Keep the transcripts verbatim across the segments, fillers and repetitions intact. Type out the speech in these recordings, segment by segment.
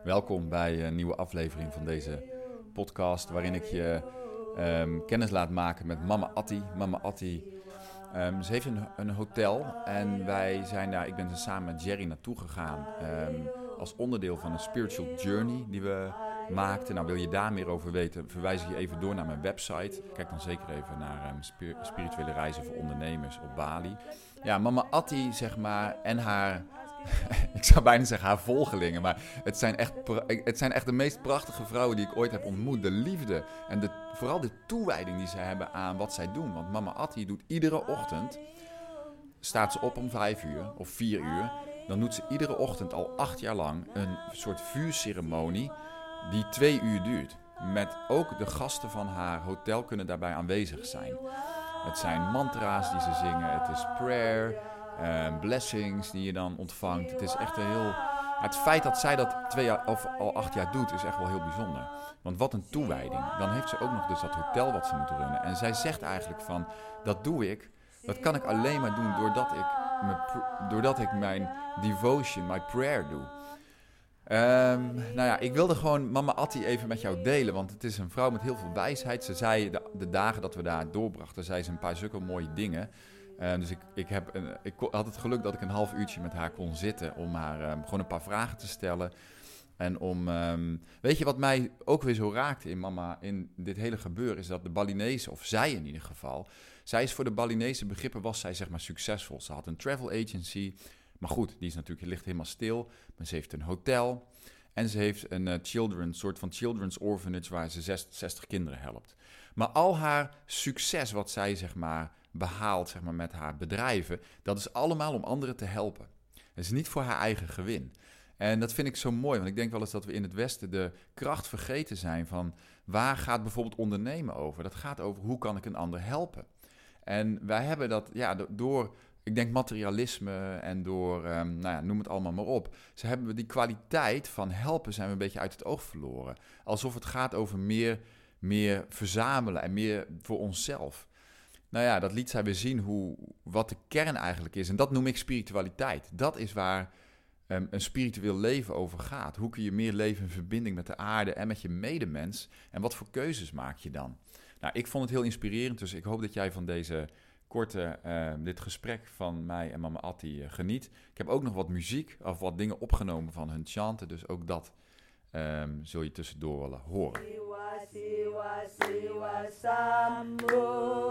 Welkom bij een nieuwe aflevering van deze podcast, waarin ik je um, kennis laat maken met Mama Atti. Mama Atti, um, ze heeft een, een hotel en wij zijn daar, ik ben er samen met Jerry naartoe gegaan um, als onderdeel van een spiritual journey die we maakten. Nou, wil je daar meer over weten, verwijs ik je even door naar mijn website. Kijk dan zeker even naar um, spir- spirituele reizen voor ondernemers op Bali. Ja, Mama Atti, zeg maar, en haar... ik zou bijna zeggen haar volgelingen, maar het zijn, echt pra- het zijn echt de meest prachtige vrouwen die ik ooit heb ontmoet. De liefde en de, vooral de toewijding die ze hebben aan wat zij doen. Want Mama Atti doet iedere ochtend, staat ze op om vijf uur of vier uur. Dan doet ze iedere ochtend al acht jaar lang een soort vuurceremonie die twee uur duurt. Met ook de gasten van haar hotel kunnen daarbij aanwezig zijn. Het zijn mantra's die ze zingen, het is prayer... Uh, blessings die je dan ontvangt. Het is echt een heel... Het feit dat zij dat twee jaar of al acht jaar doet, is echt wel heel bijzonder. Want wat een toewijding. Dan heeft ze ook nog dus dat hotel wat ze moet runnen. En zij zegt eigenlijk van, dat doe ik. Dat kan ik alleen maar doen doordat ik, me, doordat ik mijn devotion, mijn prayer doe. Um, nou ja, ik wilde gewoon Mama Atti even met jou delen, want het is een vrouw met heel veel wijsheid. Ze zei de, de dagen dat we daar doorbrachten, zei ze een paar zulke mooie dingen. Uh, dus ik, ik, heb een, ik had het geluk dat ik een half uurtje met haar kon zitten om haar um, gewoon een paar vragen te stellen. En om, um, weet je wat mij ook weer zo raakte in mama, in dit hele gebeuren, is dat de Balinese, of zij in ieder geval, zij is voor de Balinese begrippen, was zij zeg maar succesvol. Ze had een travel agency, maar goed, die is natuurlijk, ligt helemaal stil. Maar ze heeft een hotel en ze heeft een uh, children, soort van children's orphanage waar ze zestig kinderen helpt. Maar al haar succes wat zij zeg maar behaalt zeg maar, met haar bedrijven, dat is allemaal om anderen te helpen. Het is niet voor haar eigen gewin. En dat vind ik zo mooi, want ik denk wel eens dat we in het Westen de kracht vergeten zijn van waar gaat bijvoorbeeld ondernemen over? Dat gaat over hoe kan ik een ander helpen. En wij hebben dat, ja, door, ik denk materialisme en door, um, nou ja, noem het allemaal maar op. Ze hebben we die kwaliteit van helpen zijn we een beetje uit het oog verloren. Alsof het gaat over meer, meer verzamelen en meer voor onszelf. Nou ja, dat liet zij weer zien hoe, wat de kern eigenlijk is. En dat noem ik spiritualiteit. Dat is waar um, een spiritueel leven over gaat. Hoe kun je meer leven in verbinding met de aarde en met je medemens? En wat voor keuzes maak je dan? Nou, ik vond het heel inspirerend. Dus ik hoop dat jij van deze korte, uh, dit gesprek van mij en Mama Atti uh, geniet. Ik heb ook nog wat muziek of wat dingen opgenomen van hun chanten. Dus ook dat um, zul je tussendoor willen horen. Siwa siwa sambo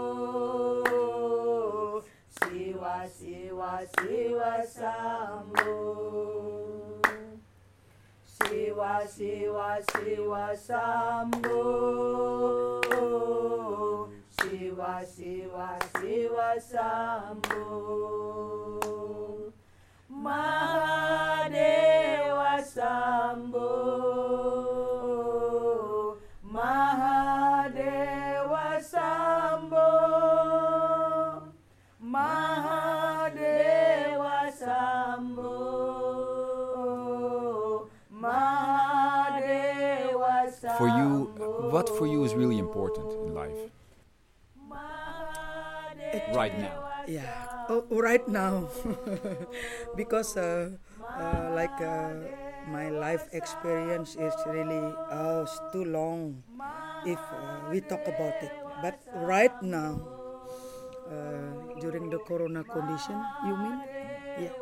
Siwa siwa siwa sambo Siwa siwa siwa sambo Siwa siwa siwa sambo Mahadewa sambo Mahadewa Sambo Mahadewa Sambo Mahadewa Sambo. For you, what for you is really important in life? Right now. Yeah, oh, right now. Because uh, uh, like uh, my life experience is really uh, too long if uh, we talk about it. But right now, uh, during the corona condition, you mean? Yeah.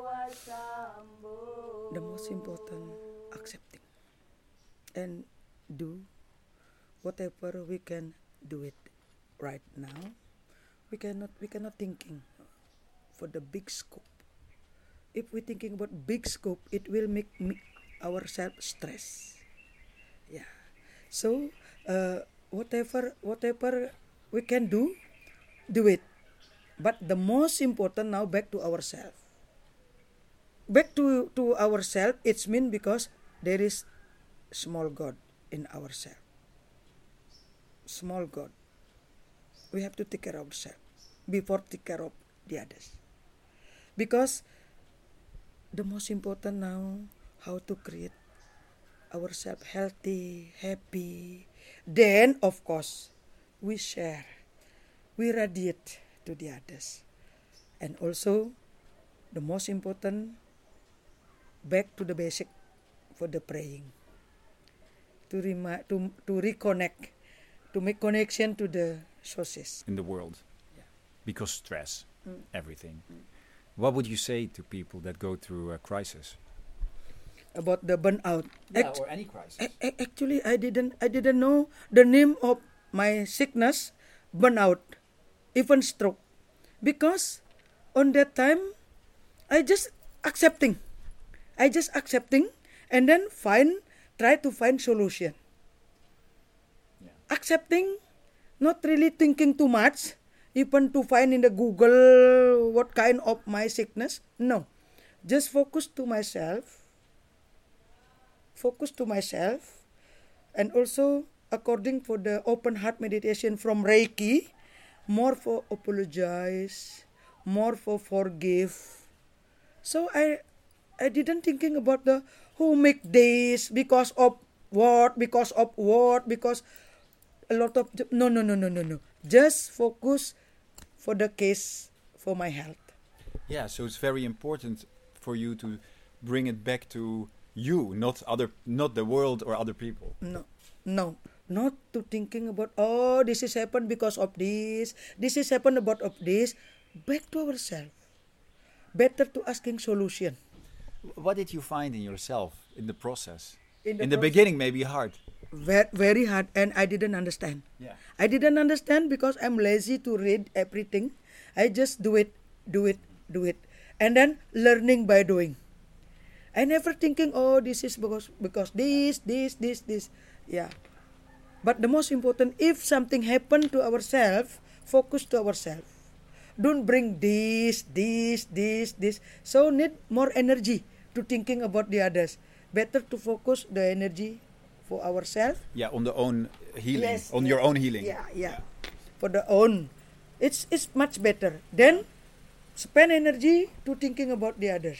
The most important, accepting and do whatever we can do it right now. We cannot, we cannot thinking for the big scope. If we're thinking about big scope, it will make me, ourselves stress. Yeah. So uh, whatever whatever we can do, do it. But the most important now back to ourselves. Back to to ourselves. It's mean because there is small God in ourselves. Small God. We have to take care of ourselves before take care of the others. Because the most important now, how to create ourselves healthy, happy. Then, of course, we share, we radiate to the others. And also, the most important, back to the basic for the praying. to remi- to to reconnect, to make connection to the sources in the world. Yeah. Because stress, Mm. everything. Mm. What would you say to people that go through a crisis? about the burnout. Act- or any crisis. a- a- actually, I didn't I didn't know the name of my sickness, burnout, even stroke, because on that time I just accepting, I just accepting, and then find try to find solution. Yeah. Accepting, not really thinking too much, even to find in the Google what kind of my sickness. No, just focus to myself. Focus to myself, and also according for the open heart meditation from Reiki, more for apologize, more for forgive. So I I didn't thinking about the who make this because of what, because of what, because a lot of no no no no no no. Just focus for the case for my health. Yeah, so it's very important for you to bring it back to you, not other, not the world or other people. No, no, not to thinking about, oh, this is happened because of this, this is happened about of this. Back to ourselves. Better to asking solution. What did you find in yourself in the process? In In the the, proce- beginning, maybe hard. Very, very hard, and I didn't understand. Yeah. I didn't understand because I'm lazy to read everything. I just do it, do it, do it, and then learning by doing. I never thinking, oh, this is because because this, this, this, this. Yeah. But the most important, if something happen to ourselves, focus to ourselves. Don't bring this, this, this, this. So need more energy to thinking about the others. Better to focus the energy for ourselves. Yeah, on the own healing, Yes, on yes. your own healing. Yeah, yeah. For the own. It's it's much better. Then spend energy to thinking about the others.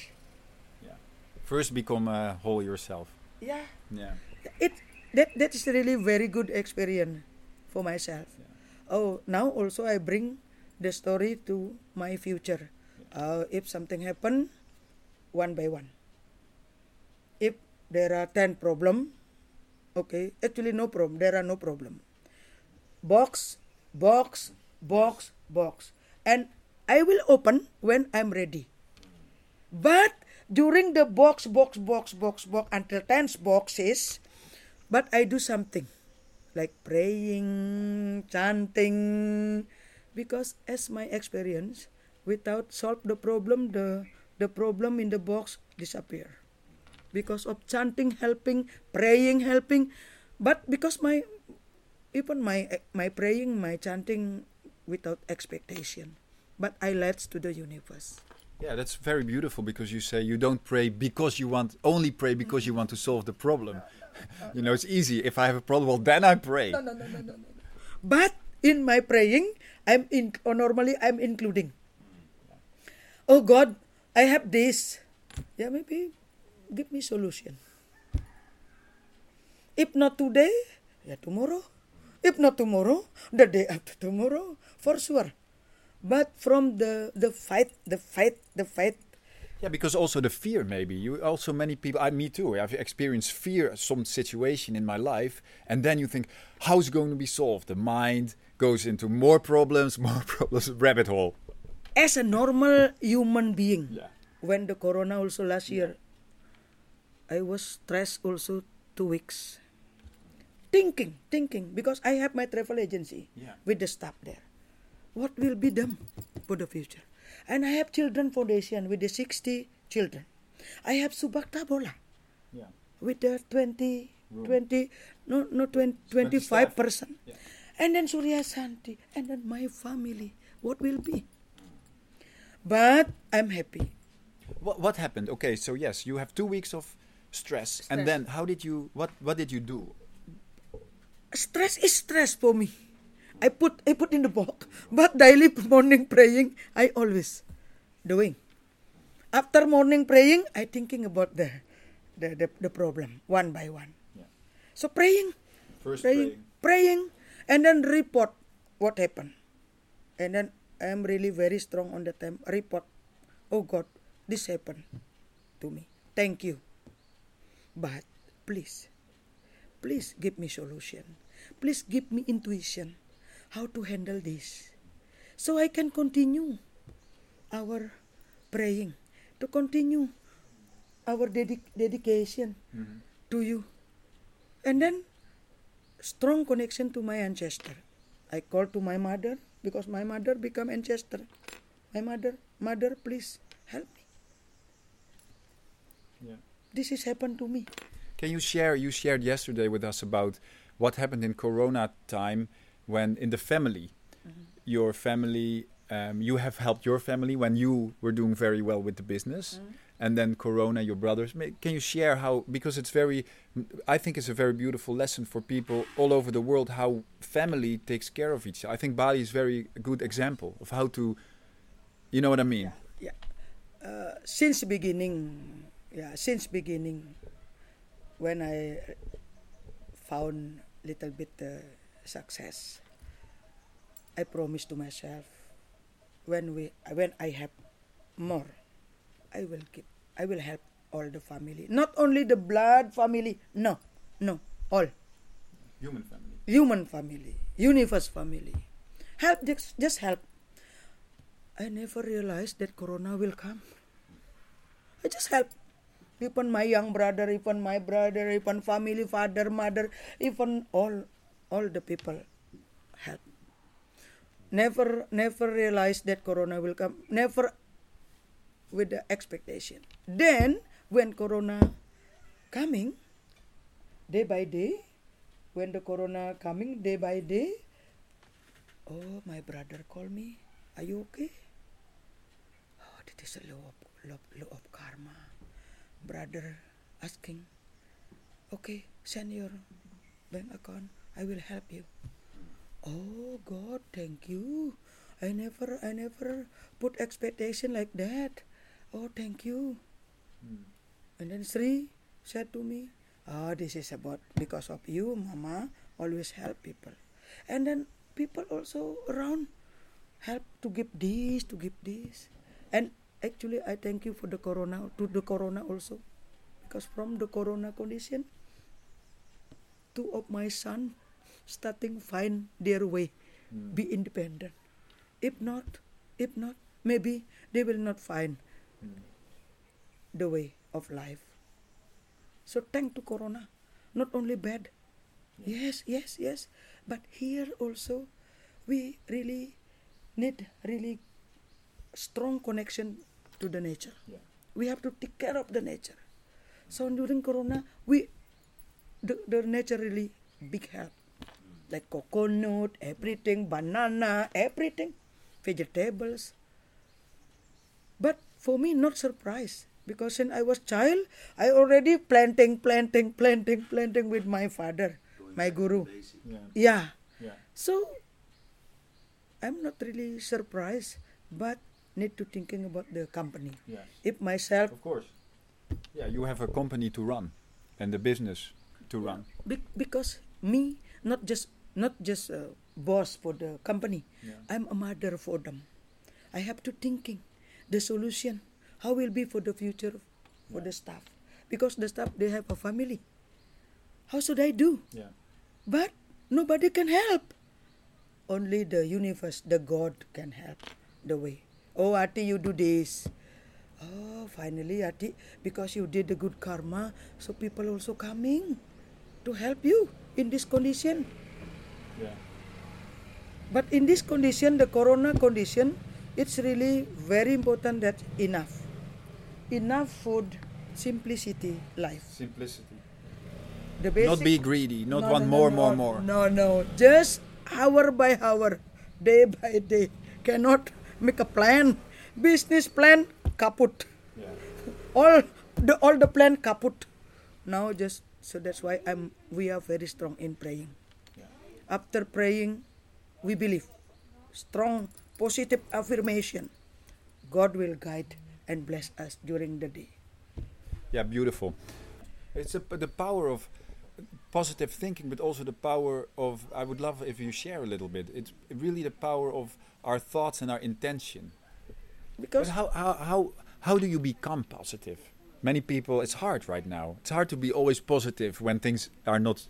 First, become uh, whole yourself. Yeah. Yeah. It that that is really very good experience for myself. Yeah. Oh, now also I bring the story to my future. Uh, if something happen, one by one. If there are ten problem, okay, actually no problem. There are no problem. Box, box, box, box, and I will open when I'm ready. But during the box, box, box, box, box until ten boxes, but I do something like praying, chanting, because as my experience, without solve the problem, the the problem in the box disappear. Because of chanting helping, praying helping, but because my even my my praying, my chanting without expectation, but I let to the universe. Yeah, that's very beautiful because you say you don't pray because you want, only pray because you want to solve the problem. You know, it's easy. If I have a problem, well, then I pray. No, no, no, no, no, no. But in my praying, I'm in, or normally I'm including. Oh God, I have this. Yeah, maybe give me solution. If not today, yeah, tomorrow. If not tomorrow, the day after tomorrow, for sure. But from the the fight, the fight, the fight. Yeah, because also the fear, maybe. You also, many people, I, me too, I've experienced fear at some situation in my life, and then you think, how's it going to be solved? The mind goes into more problems, more problems, rabbit hole. As a normal human being, Yeah. when the corona also last year, I was stressed also two weeks. Thinking, thinking, because I have my travel agency Yeah. with the staff there. What will be done for the future? And I have children foundation with the sixty children. I have Subakta Bola Yeah. with the twenty, Room. twenty, no, no, twenty, twenty-five person. Yeah. And then Surya Santi, and then my family. What will be? But I'm happy. What what happened? Okay, so yes, you have two weeks of stress, and Stress. then how did you? What what did you do? Stress is stress for me. I put I put in the box, but daily morning praying I always doing. After morning praying, I thinking about the the the, the problem one by one. Yeah. So praying, First praying, praying, and then report what happened, and then I am really very strong on the time report. Oh God, this happened to me. Thank you, but please please give me solution. Please give me intuition how to handle this. So I can continue our praying, to continue our dedic- dedication Mm-hmm. to you. And then strong connection to my ancestor. I call to my mother because my mother become ancestor. My mother, mother, please help me. Yeah. This has happened to me. Can you share? You shared yesterday with us about what happened in Corona time when in the family, Mm-hmm. your family, um, you have helped your family when you were doing very well with the business, Mm-hmm. and then Corona, your brothers. May- Can you share how? Because it's very, I think it's a very beautiful lesson for people all over the world how family takes care of each other. I think Bali is very a good example of how to, you know what I mean? Yeah. Uh, since beginning, yeah, since beginning, when I found little bit uh, success, I promised to myself, when we, when I have more, I will keep, I will help all the family, not only the blood family. No, no, all Human family. human family, universe family. Help, just, just help. I never realized that Corona will come. I just help. Even my young brother, even my brother, even family, father, mother, even all, all the people help. Never, never realized that Corona will come. Never with the expectation. Then, when Corona coming, day by day, when the Corona coming day by day, oh, my brother call me, are you okay? Oh, that is a law of, law, law of karma. Brother asking, okay, send your bank account, I will help you. Oh God, thank you. I never, I never put expectation like that. Oh, thank you. Mm. And then Sri said to me, oh, this is about because of you, Mama, always help people. And then people also around help to give this, to give this. And actually, I thank you for the Corona, to the Corona also. Because from the Corona condition, two of my son starting find their way, Mm. be independent. If not, if not, maybe they will not find Mm. the way of life. So thank to Corona, not only bad. Yes, yes, yes. But here also, we really need really strong connection to the nature. Yeah. We have to take care of the nature. So during Corona, we the, the nature really big help. Like coconut, everything, banana, everything, vegetables. But for me, not surprise. Because when I was child, I already planting, planting, planting, planting with my father, my guru. Yeah. Yeah. Yeah. So, I'm not really surprised, but need to thinking about the company. Yeah. If myself, Of course. Yeah, you have a company to run, and the business to run. be- because me, not just not just a boss for the company, Yeah. I'm a mother for them. I have to thinking the solution, how will be for the future for Yeah. the staff, because the staff they have a family. How should I do? Yeah. But nobody can help. Only the universe, the God can help the way. Oh, Ati, you do this. Oh, finally, Ati, because you did the good karma, so people also coming to help you in this condition. Yeah. But in this condition, the Corona condition, it's really very important that enough. Enough food, simplicity, life. Simplicity. The basic, Not be greedy. Not No, want no, more, no, more, no, more. No, no. Just hour by hour, day by day. Cannot make a plan. Business plan, kaput. Yeah. All the all the plan kaput. Now just so that's why I'm we are very strong in praying. Yeah. After praying, we believe. Strong positive affirmation. God will guide and bless us during the day. Yeah, beautiful. It's a, the power of positive thinking, but also the power of, I would love if you share a little bit. It's really the power of our thoughts and our intention. Because But how, how, how, how do you become positive? Many people, it's hard right now. It's hard to be always positive when things are not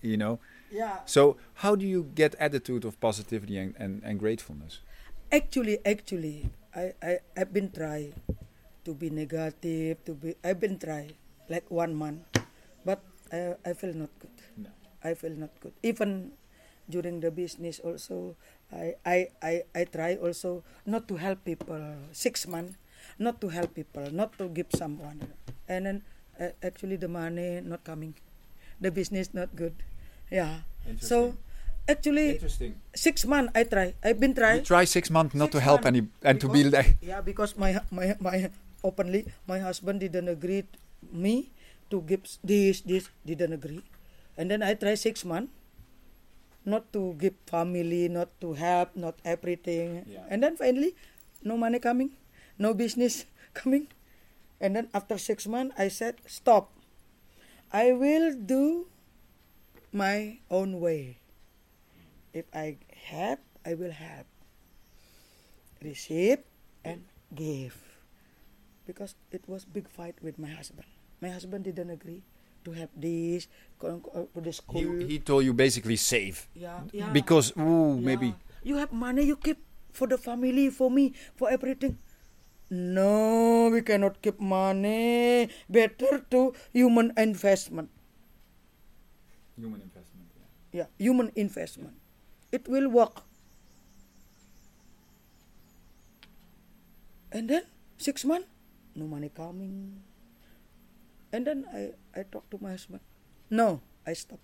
you know. Yeah. So how do you get attitude of positivity and, and, and gratefulness? Actually, actually, I, I, I've been trying to be negative, to be, I've been trying like one month, but I, I feel not good. No. I feel not good. Even during the business also, I, I, I, I try also not to help people, six months, not to help people, not to give someone. And then uh, actually the money not coming, the business not good. Yeah. So actually, Interesting. six months I try. I've been trying. You try six months not Six to help months any and to because- be like. Yeah, because my my my openly my husband didn't agree me to give this this didn't agree, and then I try six months, not to give family, not to help, not everything, Yeah. and then finally, no money coming, no business coming, and then after six months I said stop. I will do my own way. If I help, I will help. Receive and give. Because it was big fight with my husband. My husband didn't agree to have this, go go to the school. He, he told you basically save. yeah, yeah. Because, ooh, Yeah. maybe. You have money, you keep for the family, for me, for everything. No, we cannot keep money. Better to human investment. Human investment, yeah. Yeah, human investment. It will work. And then six months, no money coming. And then I, I talk to my husband. No, I stop.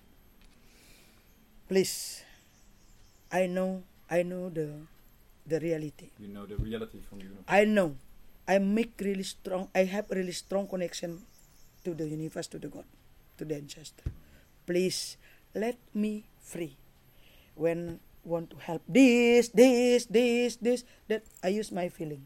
Please. I know I know the the reality. You know the reality from you. I know. I make really strong I have really strong connection to the universe, to the God, to the ancestor. Please let me free. When want to help this, this, this, this, that I use my feeling.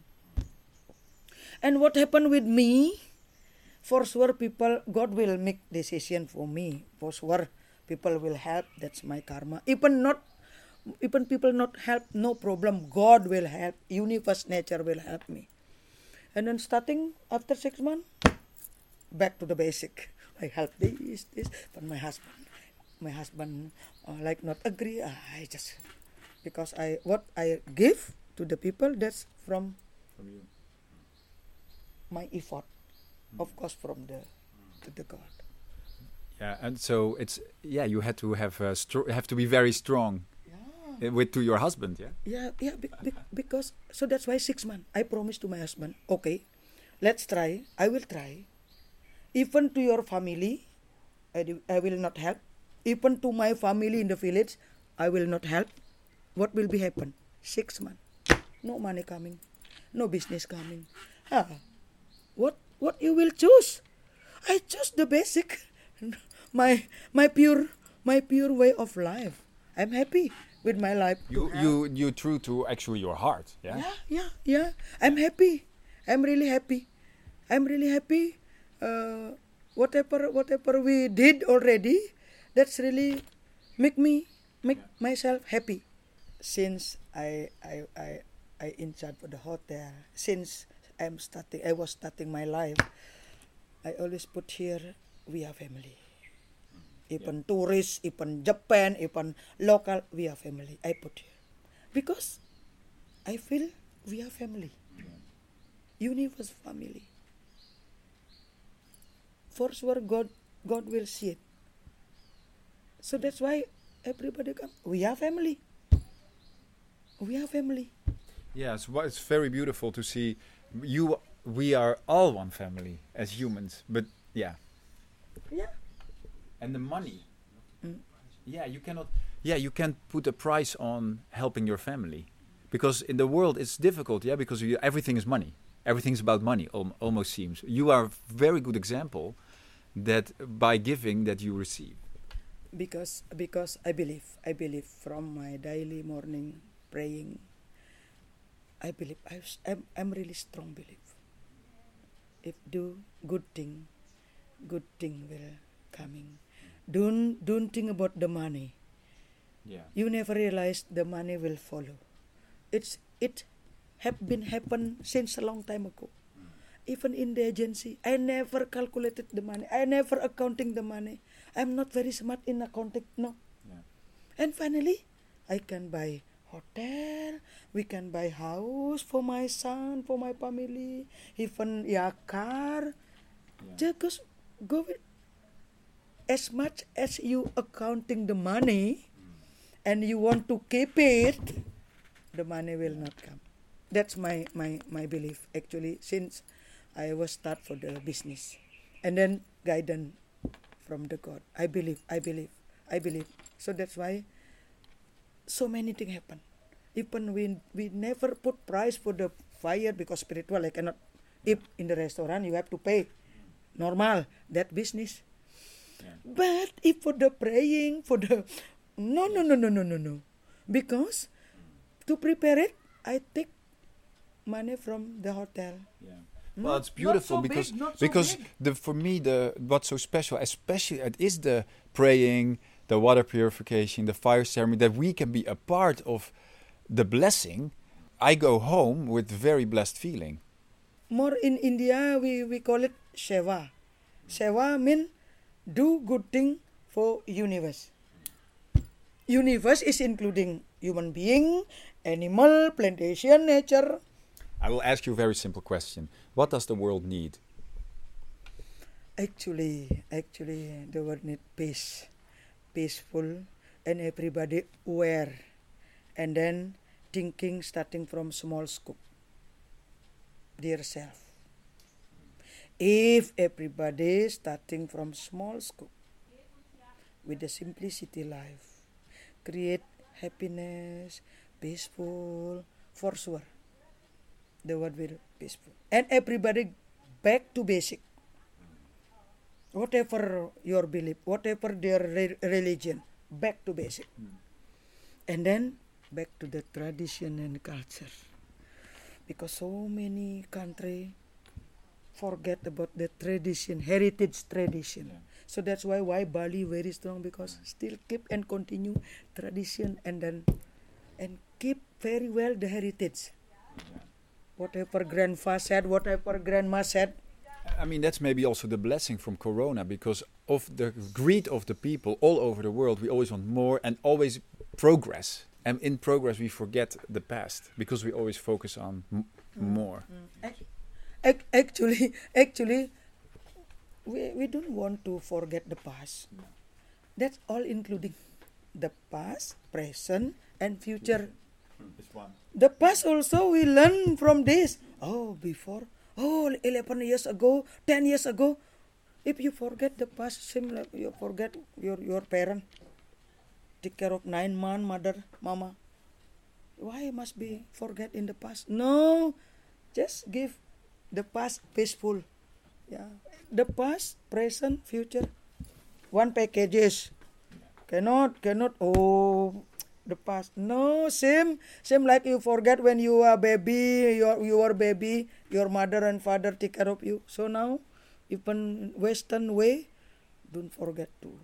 And what happened with me? For sure people, God will make decision for me. For sure people will help. That's my karma. Even not, even people not help, no problem. God will help. Universe, nature will help me. And then starting after six months, back to the basic. I help this, this, but my husband, my husband uh, like not agree. Uh, I just because I what I give to the people, that's from From you. my effort, of course from the to the God. Yeah, and so it's yeah. You had to have uh, stro- have to be very strong Yeah, uh, with to your husband. Yeah. yeah, yeah. Be, be, because so that's why six months. I promised to my husband. Okay, let's try. I will try. Even to your family, I, do, I will not help. Even to my family in the village, I will not help. What will be happen? Six months. No money coming. No business coming. Ah, what what you will choose? I choose the basic. My my pure my pure way of life. I'm happy with my life. You you you true to actually your heart. Yeah. Yeah, yeah, yeah. I'm happy. I'm really happy. I'm really happy. Uh, whatever whatever we did already, that's really make me make myself happy. Since I I I I in charge for the hotel, since I'm starting, I was starting my life. I always put here we are family. Even tourists, even Japan, even local, we are family. I put here because I feel we are family. Universe family. For sure, God, God will see it. So that's why everybody come. We are family. We are family. Yes, well, it's very beautiful to see you. We are all one family as humans, but yeah. Yeah. And the money. Mm. Yeah, you cannot. Yeah, you can't put a price on helping your family, because in the world it's difficult. Yeah, because you, everything is money. Everything's about money. Al- almost seems. You are a very good example that by giving that you receive. Because because I believe I believe from my daily morning praying. I believe I was, I'm I'm really strong belief. If do good thing, good thing will coming. Don't don't think about the money. Yeah. You never realize the money will follow. It's it have been happen since a long time ago. Even in the agency, I never calculated the money. I never accounting the money. I'm not very smart in accounting. No. Yeah. And finally, I can buy hotel. We can buy house for my son, for my family, even yeah car. Yeah. Just go with as much as you accounting the money, and you want to keep it, the money will not come. That's my my my belief actually. Since I was start for the business, and then guidance from the God. I believe, I believe, I believe. So that's why so many things happen. Even we we never put price for the fire because spiritual. I cannot eat in the restaurant. You have to pay. Normal that business. Yeah. But if for the praying, for the no no no no no no no, because to prepare it, I take money from the hotel. Yeah. Not- Well, it's not beautiful so because big, not so because big. the for me the what's so special, especially it is the praying, the water purification, the fire ceremony, that we can be a part of the blessing. I go home with very blessed feeling. More in India, we, we call it seva. Seva mean do good thing for universe. Universe is including human being, animal, plantation, nature. I will ask you a very simple question. What does the world need? Actually, actually, the world need peace, peaceful, and everybody aware, and then thinking starting from small scope, their self. If everybody starting from small scope, with the simplicity life, create happiness, peaceful, for sure, the world will peaceful, and everybody back to basic. Whatever your belief, whatever their re- religion, back to basic. And then back to the tradition and culture. Because so many country forget about the tradition, heritage tradition. Yeah. So that's why why Bali very strong, because still keep and continue tradition, and then and keep very well the heritage. Whatever grandpa said, whatever grandma said, I mean, that's maybe also the blessing from Corona, because of the greed of the people all over the world. We always want more and always progress. And in progress, we forget the past because we always focus on m- more. Ac- ac- actually, actually, we, we don't want to forget the past. That's all including the past, present, and future. The past also we learn from this. Oh, before, oh, eleven years ago, ten years ago. If you forget the past, seem like you forget your, your parent. Take care of nine month mother, mama. Why must be forget in the past? No, just give the past peaceful. Yeah, the past, present, future. One packages. Cannot, cannot. Oh, the past. No, same, same like you forget when you are baby, your your baby, your mother and father take care of you. So now, even Western way, don't forget to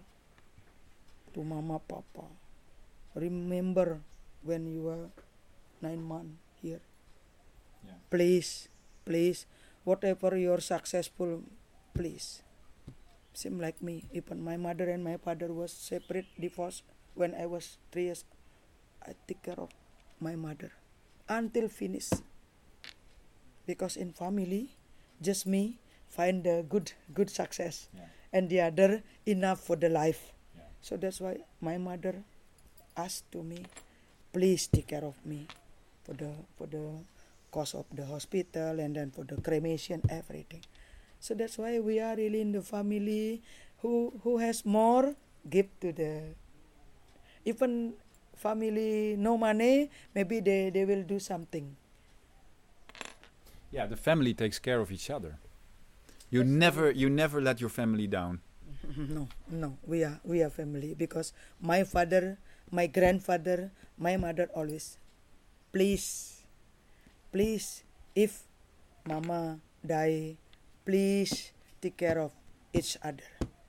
to mama, papa. Remember when you were nine months here. Yeah. Please, please, whatever you're successful, please. Same like me. Even my mother and my father was separate, divorced when I was three years. I take care of my mother until finish. Because in family, just me find the good good success, Yeah. and the other enough for the life. Yeah. So that's why my mother asked to me, please take care of me for the for the cost of the hospital, and then for the cremation, everything. So that's why we are really in the family who who has more give to the, even family no money, maybe they, they will do something. Yeah, the family takes care of each other. You never you never let your family down. No, no, we are we are family, because my father, my grandfather, my mother always, please, please, if mama die, please take care of each other.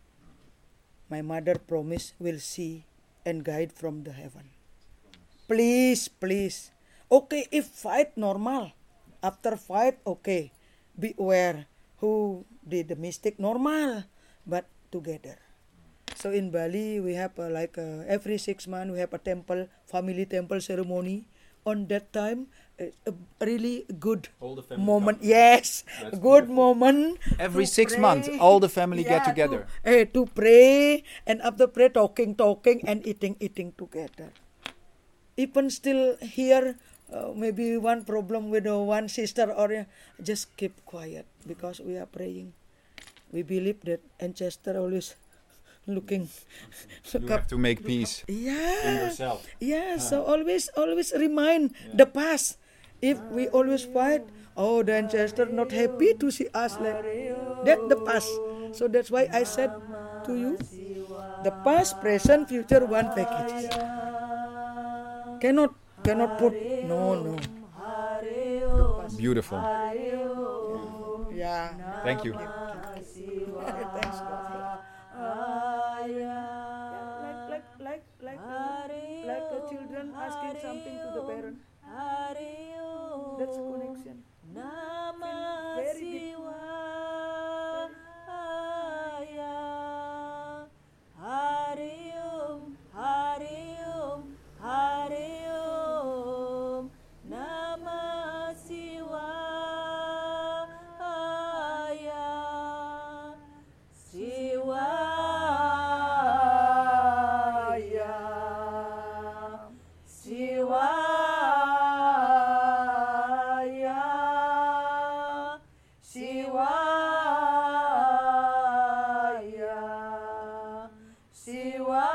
My mother promise will see and guide from the heaven. Please, please. Okay, if fight normal, after fight, okay, be aware who did the mistake, normal, but together. So in Bali, we have uh, like uh, every six months we have a temple, family temple ceremony. On that time, uh, a really good All the family moment. come. Yes, That's good beautiful. moment. Every to six pray. months, all the family get Yeah, together. To, eh, to pray, and after pray, talking, talking, and eating, eating together. Even still here, uh, maybe one problem with uh, one sister, or uh, just keep quiet because we are praying. We believe that ancestor always looking. You look have up. to make peace Yeah. in yourself. Yeah. So always, always remind the past. If we always fight, oh, the ancestor not happy to see us like that. The past. So that's why I said to you, the past, present, future, one package. Cannot, cannot put. No, no. Beautiful. Yeah. Thank you. Thanks, God. Yeah, like, like, like, like, uh, like the children asking something to the parent. That's connection. Feel very deep. Shiva